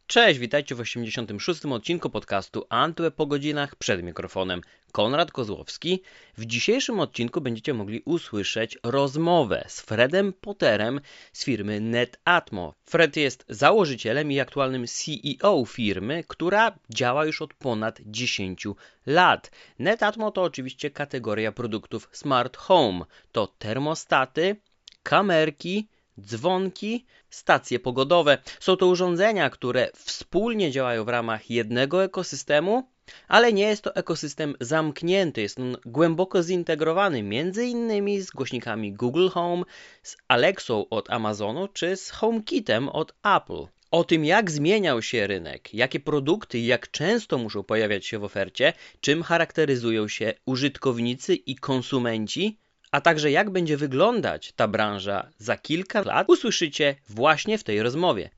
Cześć, witajcie w 86. odcinku podcastu Antweb po godzinach, przed mikrofonem Konrad Kozłowski. W dzisiejszym odcinku będziecie mogli usłyszeć rozmowę z Fredem Potterem z firmy Netatmo. Fred jest założycielem i aktualnym CEO firmy, która działa już od ponad 10 lat. Netatmo to oczywiście kategoria produktów Smart Home. To termostaty, kamerki, dzwonki, stacje pogodowe. Są to urządzenia, które wspólnie działają w ramach jednego ekosystemu, ale nie jest to ekosystem zamknięty. Jest on głęboko zintegrowany między innymi z głośnikami Google Home, z Alexą od Amazonu czy z HomeKitem od Apple. O tym, jak zmieniał się rynek, jakie produkty i jak często muszą pojawiać się w ofercie, czym charakteryzują się użytkownicy i konsumenci, a także jak będzie wyglądać ta branża za kilka lat, usłyszycie właśnie w tej rozmowie.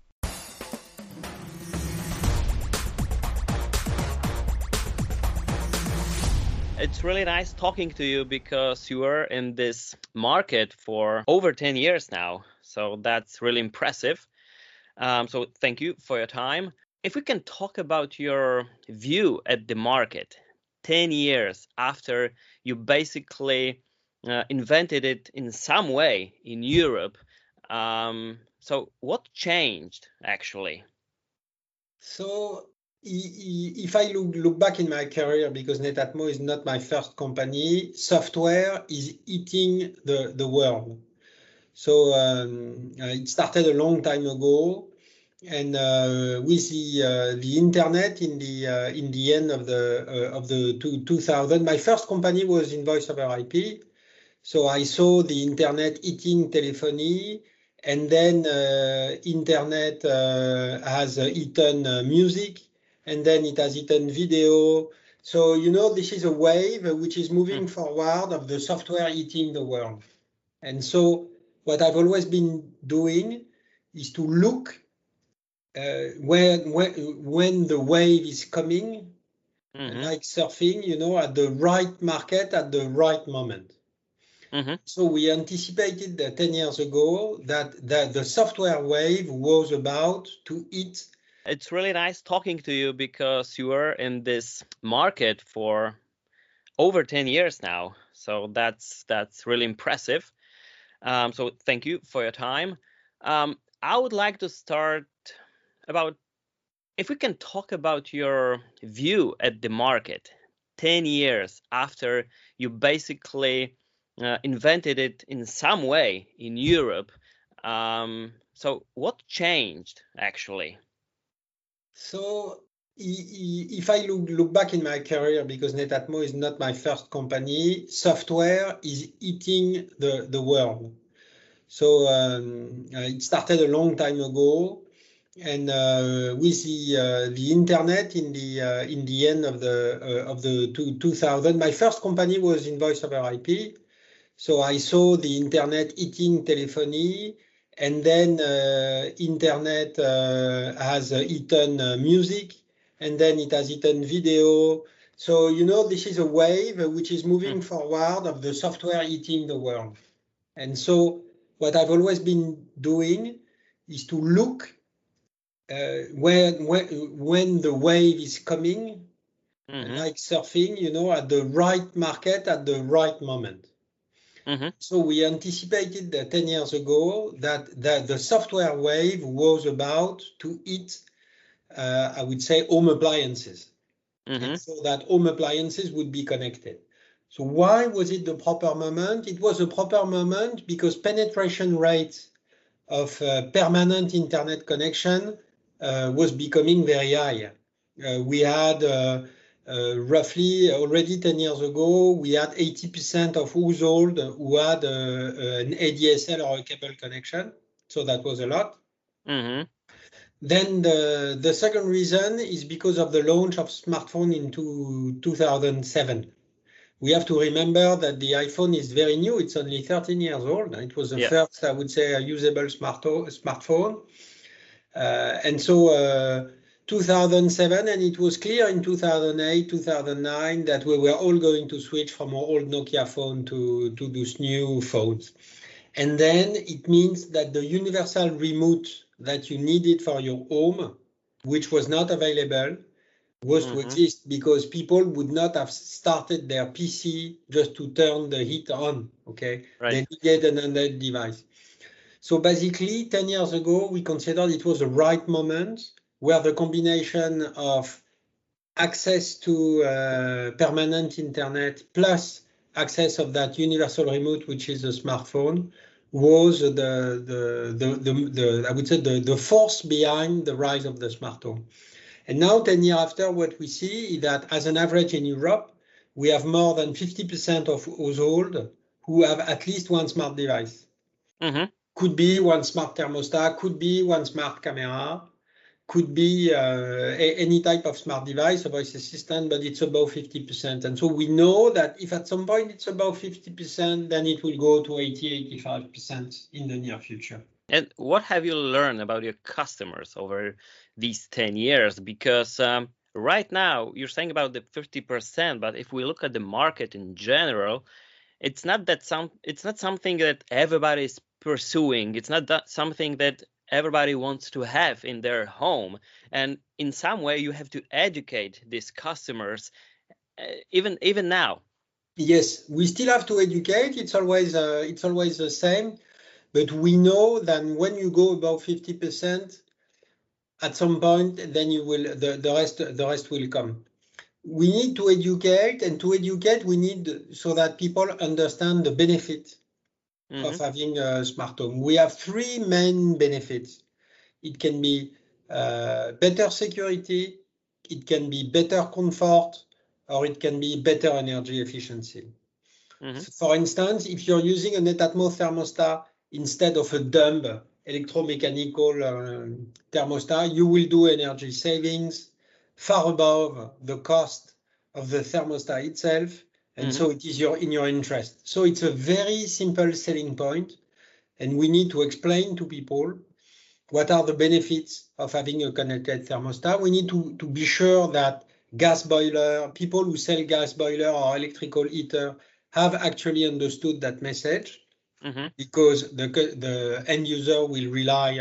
It's really nice talking to you because you were in this market for over 10 years now. So that's really impressive. So thank you for your time. If we can talk about your view at the market 10 years after you basically invented it in some way in Europe. So what changed actually? So if I look back in my career, because Netatmo is not my first company, software is eating the world. So it started a long time ago, and with the internet in the end of the 2000, my first company was in voice over IP. So I saw the internet eating telephony, and then internet has eaten music, and then it has eaten video. So, this is a wave which is moving forward of the software eating the world. And so what I've always been doing is to look when the wave is coming, like surfing, at the right market at the right moment. So we anticipated 10 years ago that the software wave was about to eat. It's really nice talking to you because you were in this market for over 10 years now. So that's really impressive. So thank you for your time. I would like to start about, if we can talk about your view at the market 10 years after you basically invented it in some way in Europe. So what changed actually? So if I look back in my career, because Netatmo is not my first company, software is eating the world. So it started a long time ago, and with the internet in the end of the 2000, my first company was in voice over IP. So I saw the internet eating telephony, and then internet has eaten music, and then it has eaten video. So, this is a wave which is moving forward of the software eating the world. And so what I've always been doing is to look when the wave is coming, like surfing, at the right market at the right moment. So we anticipated 10 years ago that the software wave was about to eat, I would say, home appliances. And so that home appliances would be connected. So why was it the proper moment? It was a proper moment because penetration rate of permanent internet connection was becoming very high. We had roughly already 10 years ago, we had 80% of households who had an ADSL or a cable connection. So that was a lot. Then the second reason is because of the launch of smartphone in 2007. We have to remember that the iPhone is very new. It's only 13 years old. It was the first, I would say, usable smartphone. And so 2007, and it was clear in 2008, 2009 that we were all going to switch from our old Nokia phone to those new phones. And then it means that the universal remote that you needed for your home which was not available, was to exist because people would not have started their PC just to turn the heat on, okay? Right. They needed an handheld device. So basically, 10 years ago, we considered it was the right moment where the combination of access to permanent internet plus access of that universal remote, which is a smartphone, was the I would say the force behind the rise of the smart home. And now, 10 years after, what we see is that as an average in Europe, we have more than 50% of households who have at least one smart device. Could be one smart thermostat, could be one smart camera, could be any type of smart device, a voice assistant, but it's above 50%. And so we know that if at some point it's above 50%, then it will go to 80, 85% in the near future. And what have you learned about your customers over these 10 years? Because right now you're saying about the 50%, but if we look at the market in general, it's not something that everybody is pursuing. It's not that something that everybody wants to have in their home. And in some way, you have to educate these customers, even now. Yes, we still have to educate. It's always the same. But we know that when you go above 50%, at some point, then you will the rest will come. We need to educate, and to educate, we need so that people understand the benefit of having a smart home. We have three main benefits. It can be better security, it can be better comfort, or it can be better energy efficiency. For instance, if you're using a Netatmo thermostat instead of a dumb electromechanical thermostat, you will do energy savings far above the cost of the thermostat itself. And so it is in your interest. So it's a very simple selling point. And we need to explain to people what are the benefits of having a connected thermostat. We need to be sure that people who sell gas boiler or electrical heater have actually understood that message, because the end user will rely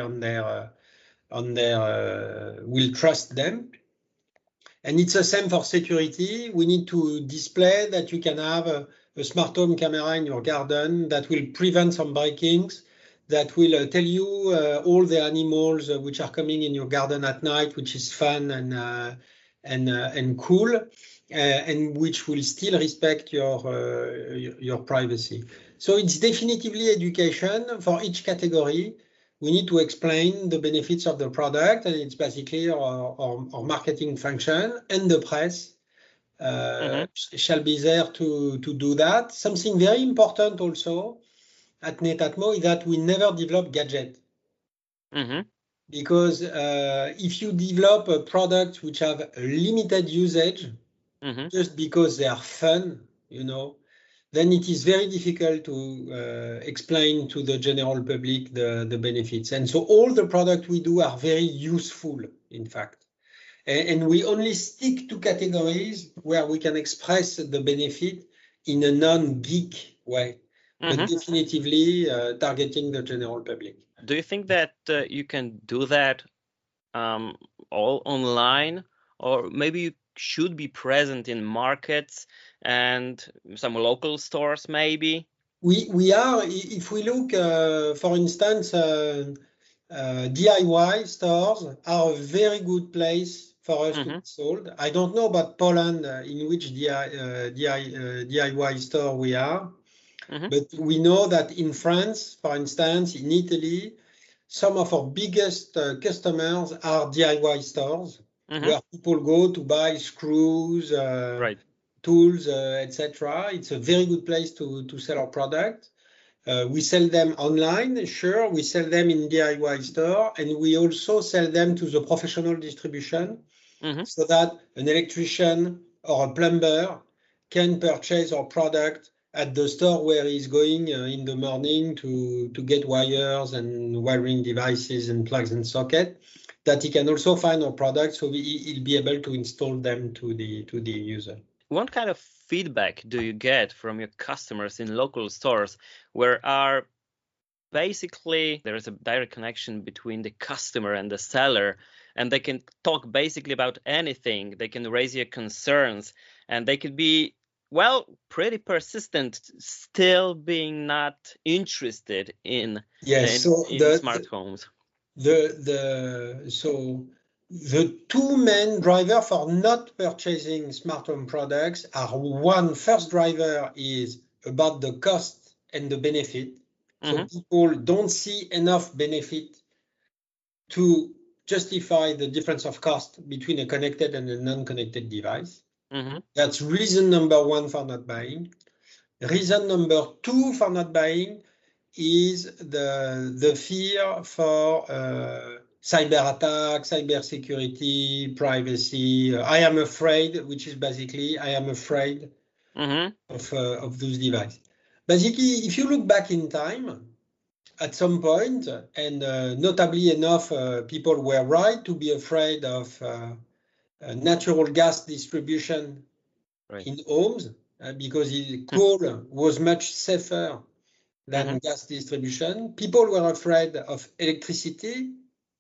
will trust them. And it's the same for security. We need to display that you can have a smart home camera in your garden that will prevent some break-ins, that will tell you all the animals which are coming in your garden at night, which is fun and cool, and which will still respect your privacy. So it's definitively education for each category. We need to explain the benefits of the product, and it's basically our marketing function, and the press shall be there to do that. Something very important also at Netatmo is that we never develop gadgets. Because if you develop a product which have a limited usage, just because they are fun, then it is very difficult to explain to the general public the benefits. And so all the products we do are very useful, in fact. And we only stick to categories where we can express the benefit in a non-geek way, but definitively targeting the general public. Do you think that you can do that all online, or maybe you should be present in markets and some local stores maybe? We are, if we look, for instance, DIY stores are a very good place for us to be sold. I don't know about Poland, in which DIY store we are, but we know that in France, for instance, in Italy, some of our biggest customers are DIY stores, where people go to buy screws, tools, etc. It's a very good place to sell our product. We sell them online, sure. We sell them in DIY store, and we also sell them to the professional distribution, so that an electrician or a plumber can purchase our product at the store where he's going in the morning to get wires and wiring devices and plugs and sockets, that he can also find our product, so he'll be able to install them to the user. What kind of feedback do you get from your customers in local stores, where basically there is a direct connection between the customer and the seller, and they can talk basically about anything. They can raise your concerns, and they could be, well, pretty persistent, still being not interested in Yes. smart homes. The two main drivers for not purchasing smart home products are, one, first driver is about the cost and the benefit. So people don't see enough benefit to justify the difference of cost between a connected and a non-connected device. That's reason number one for not buying. Reason number two for not buying is the fear for cyber attack, cyber security, privacy. I am afraid, which is basically I am afraid of those devices. Basically, if you look back in time, at some point, and notably enough, people were right to be afraid of natural gas distribution in homes because coal was much safer than gas distribution. People were afraid of electricity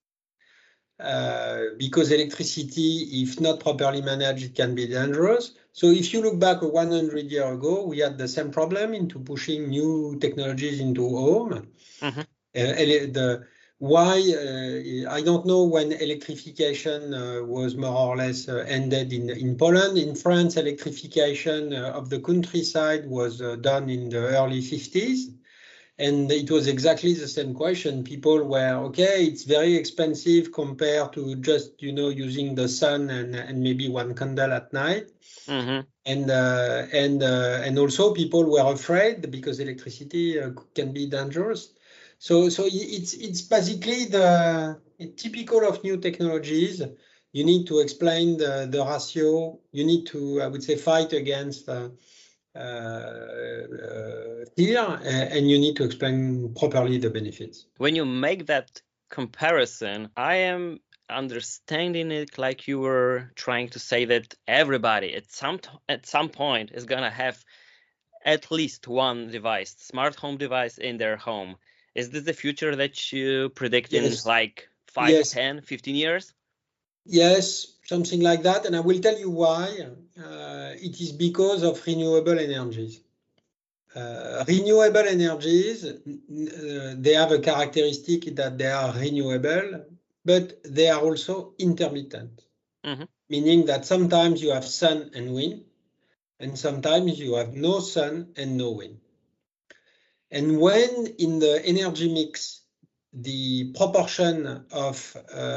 because electricity, if not properly managed, can be dangerous. So if you look back 100 years ago, we had the same problem into pushing new technologies into home. I don't know when electrification was more or less ended in Poland. In France, electrification of the countryside was done in the early 50s. And it was exactly the same question. People were, okay, it's very expensive compared to just, using the sun and maybe one candle at night. And also people were afraid because electricity can be dangerous. So it's basically typical of new technologies. You need to explain the ratio. You need to, I would say, fight against fear, and you need to explain properly the benefits. When you make that comparison, I am understanding it like you were trying to say that everybody at some point is gonna have at least one device, smart home device in their home. Is this the future that you predict in like 5, 10, 15 years? Yes, something like that. And I will tell you why. It is because of renewable energies. Renewable energies, they have a characteristic that they are renewable, but they are also intermittent, meaning that sometimes you have sun and wind, and sometimes you have no sun and no wind. And when in the energy mix, the proportion of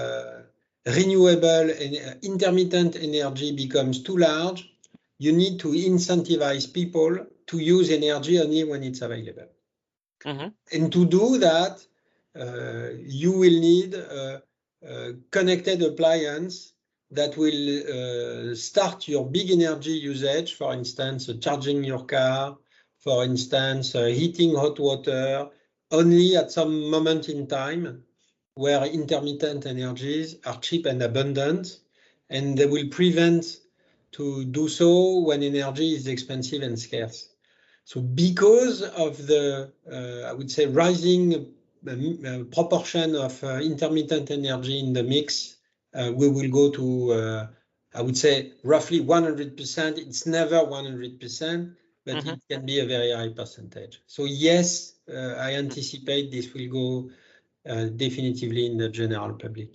renewable and intermittent energy becomes too large, you need to incentivize people to use energy only when it's available. And to do that, you will need a connected appliance that will start your big energy usage, for instance, charging your car, for instance, heating hot water, only at some moment in time where intermittent energies are cheap and abundant, and they will prevent to do so when energy is expensive and scarce. So because of the, I would say, rising proportion of intermittent energy in the mix, we will go to, I would say, roughly 100%. It's never 100%, but it can be a very high percentage. So yes, I anticipate this will go definitively in the general public.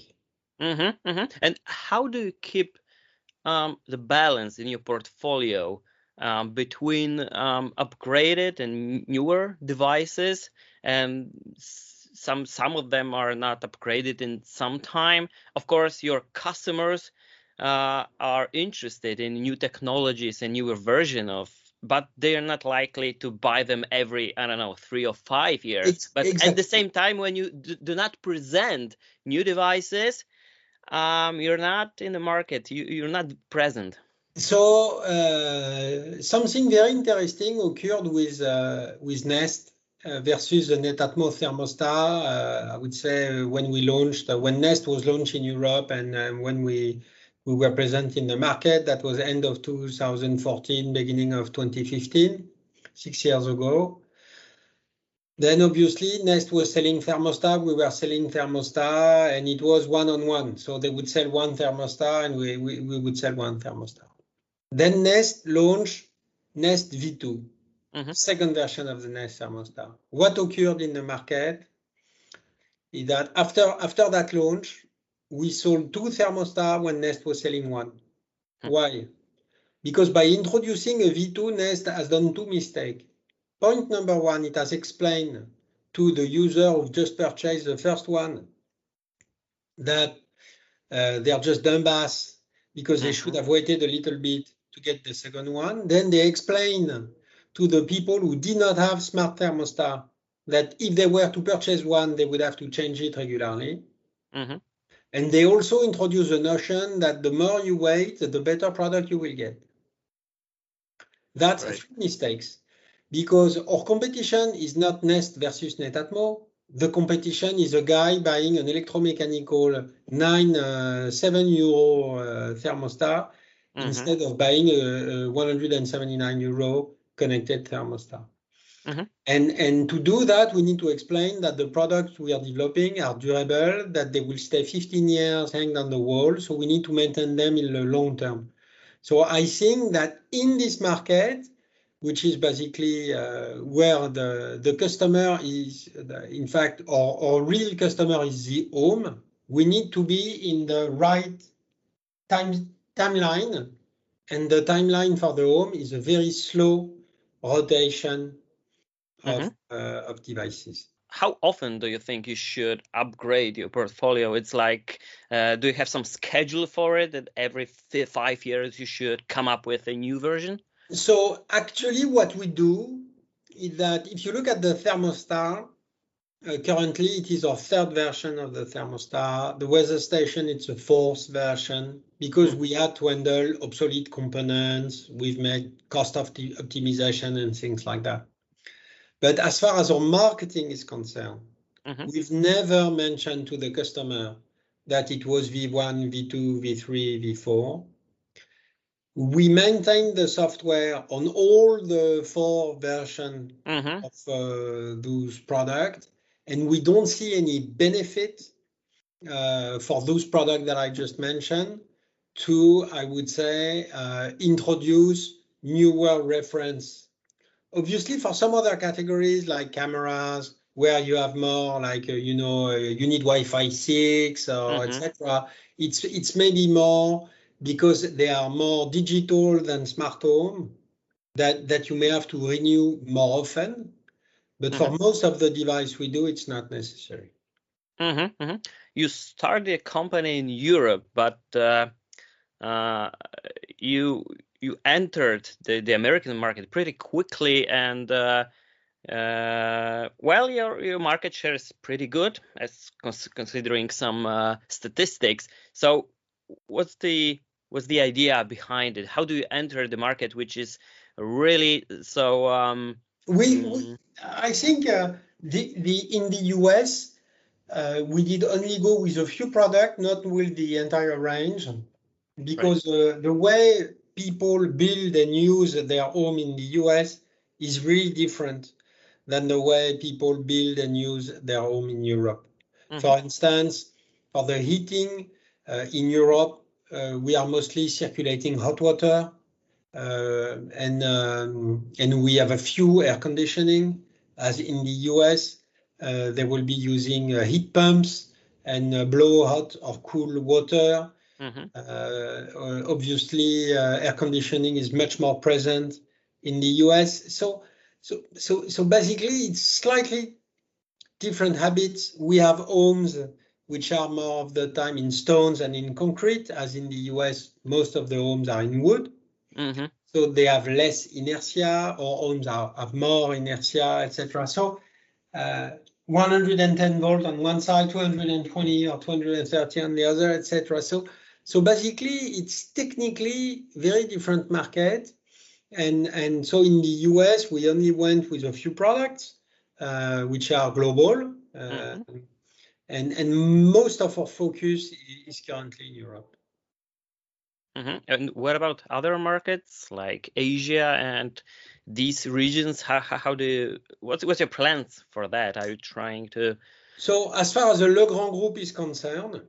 And how do you keep the balance in your portfolio between upgraded and newer devices, and some of them are not upgraded in some time? Of course, your customers are interested in new technologies and newer version of, but they are not likely to buy them every, 3 or 5 years. But exactly. At the same time, when you do not present new devices, you're not in the market, you're not present. So something very interesting occurred with Nest versus the Netatmo thermostat. I would say when Nest was launched in Europe, and when we were present in the market, that was end of 2014, beginning of 2015, 6 years ago. Then obviously Nest was selling thermostat, we were selling thermostat, and it was one-on-one. So they would sell one thermostat and we would sell one thermostat. Then Nest launched Nest V2, second version of the Nest thermostat. What occurred in the market is that after that launch, we sold two thermostats when Nest was selling one. Why? Because by introducing a V2, Nest has done two mistakes. Point number one, it has explained to the user who just purchased the first one that they're just dumbass because they should have waited a little bit to get the second one. Then they explain to the people who did not have smart thermostat that if they were to purchase one, they would have to change it regularly. And they also introduce the notion that the more you wait, the better product you will get. That's three mistakes. Because our competition is not Nest versus Netatmo. The competition is a guy buying an electromechanical 7 euro thermostat instead of buying a 179 euro connected thermostat. And to do that, we need to explain that the products we are developing are durable, that they will stay 15 years hanging on the wall. So we need to maintain them in the long term. So I think that in this market, which is basically where the customer is, in fact, our real customer is the home. We need to be in the right timeline, and the timeline for the home is a very slow rotation of devices. How often do you think you should upgrade your portfolio? It's like, do you have some schedule for it that every 5 years you should come up with a new version? So actually what we do is that if you look at the thermostat, currently it is our third version of the thermostat. The weather station, it's a fourth version because we had to handle obsolete components. We've made cost optimization and things like that. But as far as our marketing is concerned, we've never mentioned to the customer that it was V1, V2, V3, V4. We maintain the software on all the 4 versions of those products, and we don't see any benefit for those products that I just mentioned to, I would say, introduce newer reference. Obviously, for some other categories like cameras, where you have more like, you need Wi-Fi 6 or etc., it's maybe more because they are more digital than smart home, that you may have to renew more often. But for most of the device we do, it's not necessary. You started a company in Europe, but you entered the American market pretty quickly, and well, your market share is pretty good, as considering some statistics. So, what's the idea behind it? How do you enter the market, which is really so? I think in the US, we did only go with a few products, not with the entire range, because the way people build and use their home in the US is really different than the way people build and use their home in Europe. For instance, for the heating in Europe, we are mostly circulating hot water, and we have a few air conditioning. As in the US, they will be using heat pumps and blow hot or cool water. Obviously, air conditioning is much more present in the US. So basically, it's slightly different habits. We have homes which are more of the time in stones and in concrete, as in the US, most of the homes are in wood. So they have less inertia, or homes have more inertia, etc. So 110 volts on one side, 220 or 230 on the other, etc. So basically, it's technically very different market. And so in the US, we only went with a few products, which are global. And most of our focus is currently in Europe. And what about other markets like Asia and these regions? What's your plans for that? Are you trying to? So as far as the Legrand Group is concerned,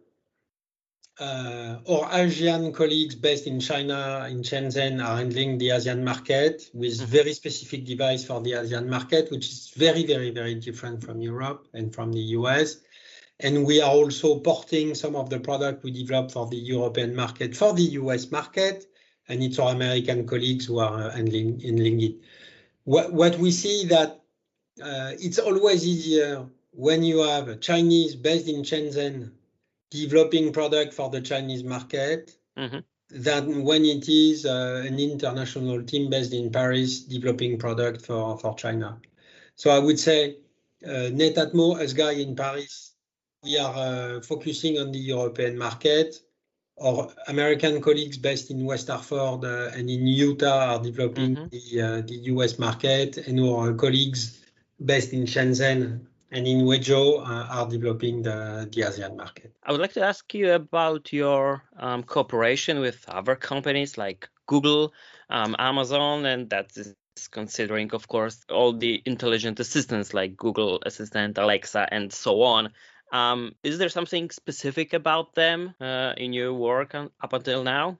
our Asian colleagues based in China, in Shenzhen, are handling the Asian market with very specific device for the Asian market, which is very, very, very different from Europe and from the US. And we are also porting some of the product we developed for the European market for the US market, and it's our American colleagues who are handling it. What we see that it's always easier when you have a Chinese based in Shenzhen developing product for the Chinese market than when it is an international team based in Paris developing product for China. So I would say Netatmo, as guy in Paris, we are focusing on the European market. Our American colleagues based in West Hartford and in Utah are developing the US market, and our colleagues based in Shenzhen and in Wenzhou are developing the Asian market. I would like to ask you about your cooperation with other companies like Google, Amazon, and that is considering, of course, all the intelligent assistants like Google Assistant, Alexa, and so on. Is there something specific about them in your work up until now?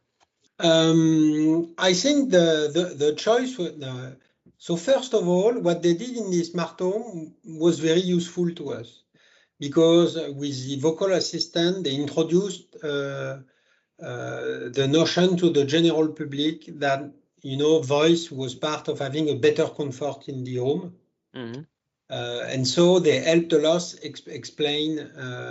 I think the choice. So first of all, what they did in the smart home was very useful to us, because with the vocal assistant, they introduced the notion to the general public that, voice was part of having a better comfort in the home. And so they helped a lot explaining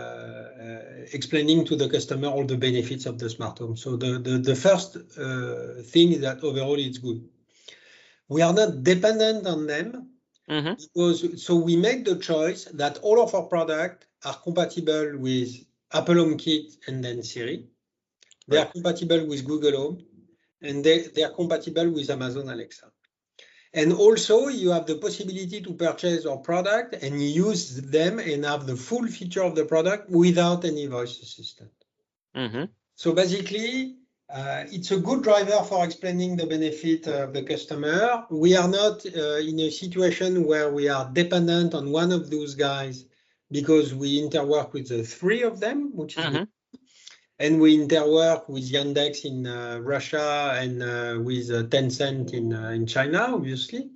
to the customer all the benefits of the smart home. So the first thing is that overall it's good. We are not dependent on them, because we make the choice that all of our products are compatible with Apple HomeKit and then Siri. They are compatible with Google Home, and they are compatible with Amazon Alexa. And also you have the possibility to purchase our product and use them and have the full feature of the product without any voice assistant. So basically, it's a good driver for explaining the benefit of the customer. We are not in a situation where we are dependent on one of those guys, because we interwork with the three of them, which is good. And we interwork with Yandex in Russia and with Tencent in China, obviously.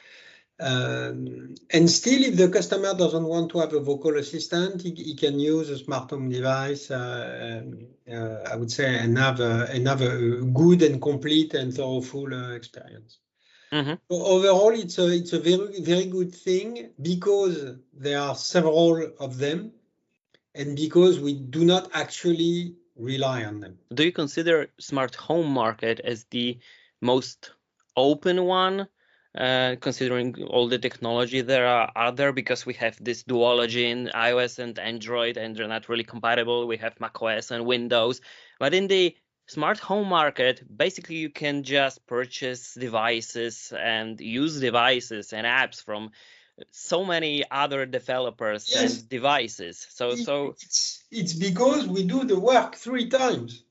And still, if the customer doesn't want to have a vocal assistant, he can use a smart home device, I would say, and have a good and complete and thorough experience. So overall, it's a very, very good thing, because there are several of them, and because we do not actually rely on them. Do you consider smart home market as the most open one, considering all the technology there are there? Because we have this duology in iOS and Android, and they're not really compatible. We have macOS and Windows, but in the smart home market, basically you can just purchase devices and use devices and apps from so many other developers and devices. So it's because we do the work 3 times.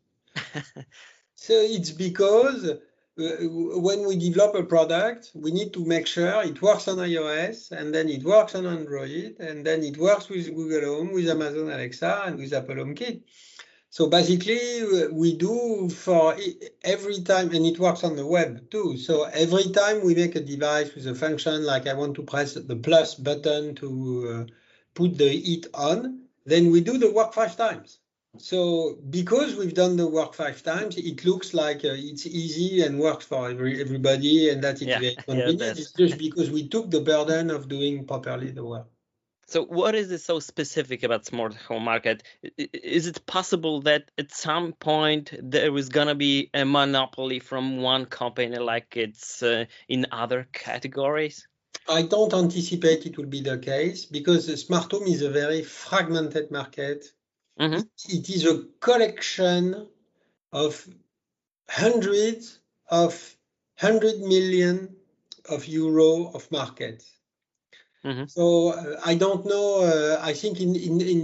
So it's because when we develop a product, we need to make sure it works on iOS, and then it works on Android, and then it works with Google Home, with Amazon Alexa, and with Apple HomeKit. So basically, we do for every time, and it works on the web too. So every time we make a device with a function like I want to press the plus button to put the heat on, then we do the work 5 times. So because we've done the work 5 times, it looks like it's easy and works for everybody, and that it's very convenient. It's just because we took the burden of doing properly the work. So what is so specific about smart home market? Is it possible that at some point there is going to be a monopoly from one company like it's in other categories? I don't anticipate it will be the case, because the smart home is a very fragmented market. It is a collection of hundreds of 100 million of euro of markets. Mm-hmm. So I don't know. I think in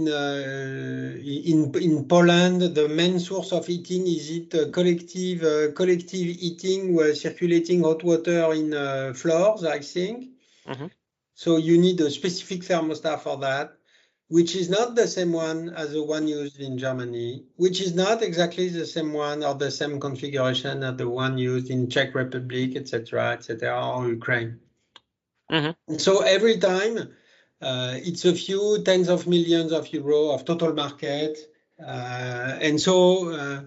Poland, the main source of heating is it collective heating, circulating hot water in floors, I think. Mm-hmm. So you need a specific thermostat for that, which is not the same one as the one used in Germany, which is not exactly the same one or the same configuration as the one used in Czech Republic, etc., or Ukraine. Mm-hmm. So every time it's a few tens of millions of euros of total market. And so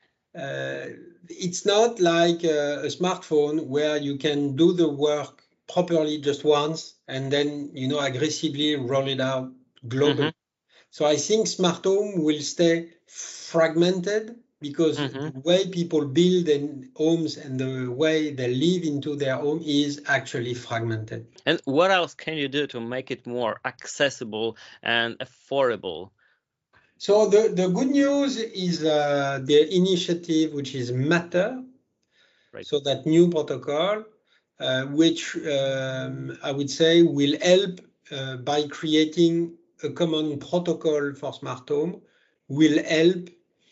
it's not like a smartphone where you can do the work properly just once and then, aggressively roll it out globally. So I think smart home will stay fragmented because Mm-hmm. the way people build homes and the way they live into their home is actually fragmented. And what else can you do to make it more accessible and affordable? So the good news is the initiative, which is Matter, Right. so that new protocol, which I would say will help by creating a common protocol for smart home, will help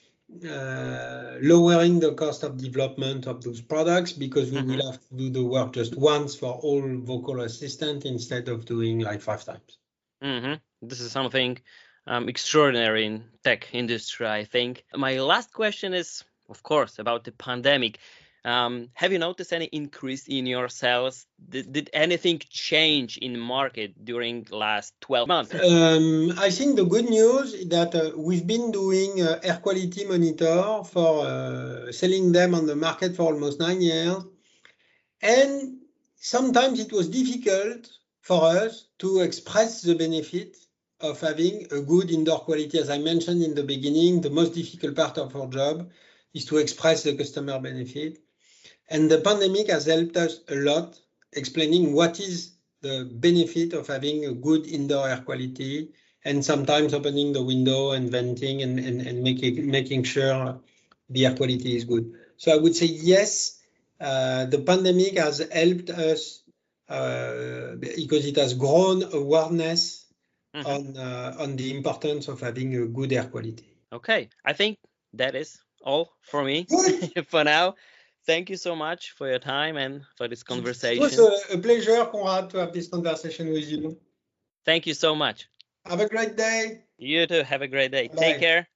lowering the cost of development of those products because we will have to do the work just once for all vocal assistant instead of doing like 5 times. Mm-hmm. This is something extraordinary in tech industry, I think. My last question is, of course, about the pandemic. Have you noticed any increase in your sales? Did anything change in market during last 12 months? I think the good news is that we've been doing air quality monitor for selling them on the market for almost 9 years. And sometimes it was difficult for us to express the benefit of having a good indoor quality. As I mentioned in the beginning, the most difficult part of our job is to express the customer benefit. And the pandemic has helped us a lot explaining what is the benefit of having a good indoor air quality and sometimes opening the window and venting and making sure the air quality is good. So I would say yes, the pandemic has helped us because it has grown awareness on the importance of having a good air quality. Okay, I think that is all for me Good. for now. Thank you so much for your time and for this It was conversation. a pleasure, Conrad, to have this conversation with you. Thank you so much. Have a great day. You too. Have a great day. Take Bye. care.